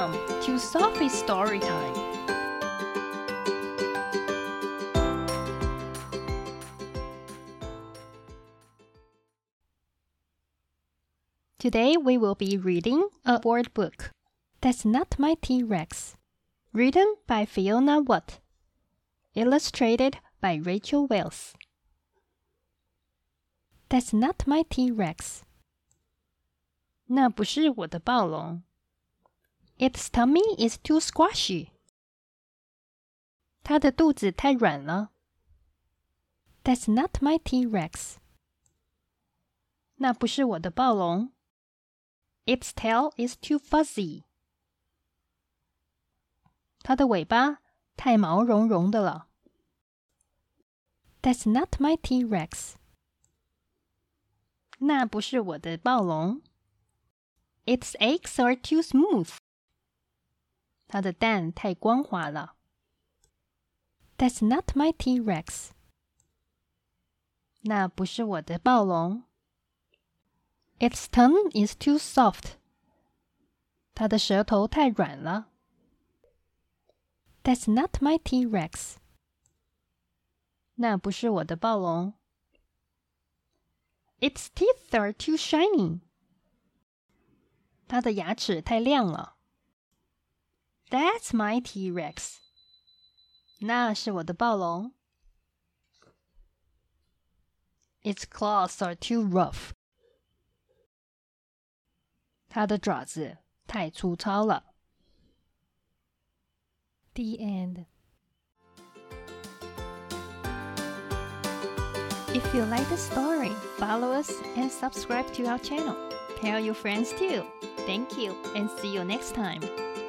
Welcome to Sophie's Story Time. Today we will be reading a word book. That's Not My T-Rex. Written by Fiona Watt. Illustrated by Rachel Wells. That's not my T-Rex. 那不是我的暴龙。Its tummy is too squashy. 它的肚子太软了。That's not my T-Rex. 那不是我的暴龙。Its tail is too fuzzy. 它的尾巴太毛茸茸的了。That's not my T-Rex. 那不是我的暴龙。Its eggs are too smooth. 它的蛋太光滑了。That's not my T-Rex. 那不是我的暴龙。Its tongue is too soft. 它的舌头太软了。That's not my T-Rex. 那不是我的暴龙。Its teeth are too shiny. 它的牙齿太亮了。That's my T-Rex. 那是我的暴龙。Its claws are too rough. 它的爪子太粗糙了。The end. If you like the story, follow us and subscribe to our channel. Tell your friends too. Thank you and see you next time.